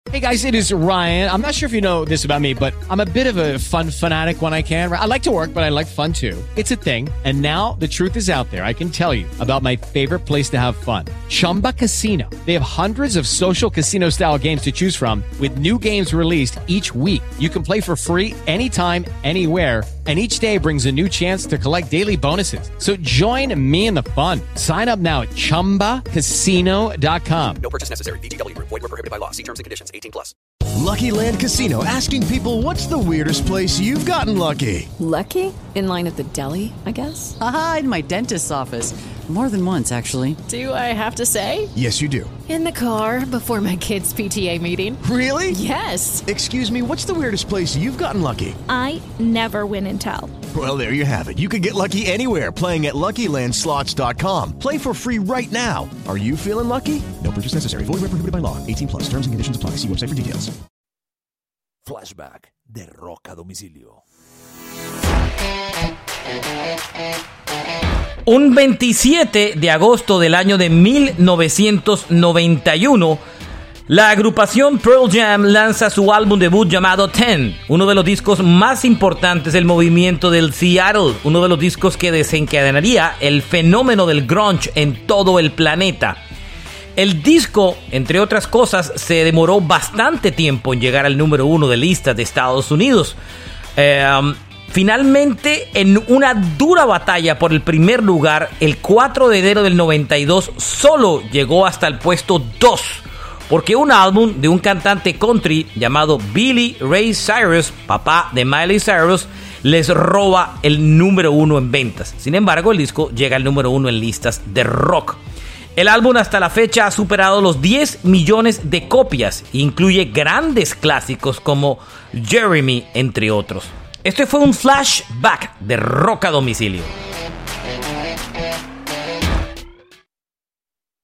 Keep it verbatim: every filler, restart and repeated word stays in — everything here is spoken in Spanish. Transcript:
Hey guys, it is Ryan. I'm not sure if you know this about me, but I'm a bit of a fun fanatic when I can. I like to work, but I like fun too. It's a thing. And now the truth is out there. I can tell you about my favorite place to have fun. Chumba Casino. They have hundreds of social casino style games to choose from with new games released each week. You can play for free anytime, anywhere. And each day brings a new chance to collect daily bonuses. So join me in the fun. Sign up now at chumba casino dot com. No purchase necessary. V G W. Void where prohibited by law. See terms and conditions. eighteen plus. Lucky Land Casino, asking people, what's the weirdest place you've gotten lucky? Lucky? In line at the deli, I guess? Aha, in my dentist's office. More than once, actually. Do I have to say? Yes, you do. In the car before my kids' P T A meeting. Really? Yes. Excuse me, what's the weirdest place you've gotten lucky? I never win and tell. Well, there you have it. You can get lucky anywhere, playing at Lucky Land Slots dot com. Play for free right now. Are you feeling lucky? No purchase necessary. Void where prohibited by law. eighteen plus. Terms and conditions apply. See website for details. Flashback de Rock a Domicilio. Un veintisiete de agosto del año de mil novecientos noventa y uno, la agrupación Pearl Jam lanza su álbum debut llamado Ten, uno de los discos más importantes del movimiento del Seattle, uno de los discos que desencadenaría el fenómeno del grunge en todo el planeta. El disco, entre otras cosas, se demoró bastante tiempo en llegar al número uno de listas de Estados Unidos. Eh, finalmente, en una dura batalla por el primer lugar, el cuatro de enero del noventa y dos solo llegó hasta el puesto dos, porque un álbum de un cantante country llamado Billy Ray Cyrus, papá de Miley Cyrus, les roba el número uno en ventas. Sin embargo, el disco llega al número uno en listas de rock. El álbum hasta la fecha ha superado los diez millones de copias e incluye grandes clásicos como Jeremy, entre otros. Este fue un flashback de Rock a Domicilio.